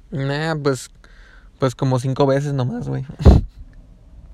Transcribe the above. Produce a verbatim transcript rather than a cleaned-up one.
Nah, pues, pues como cinco veces nomás, güey.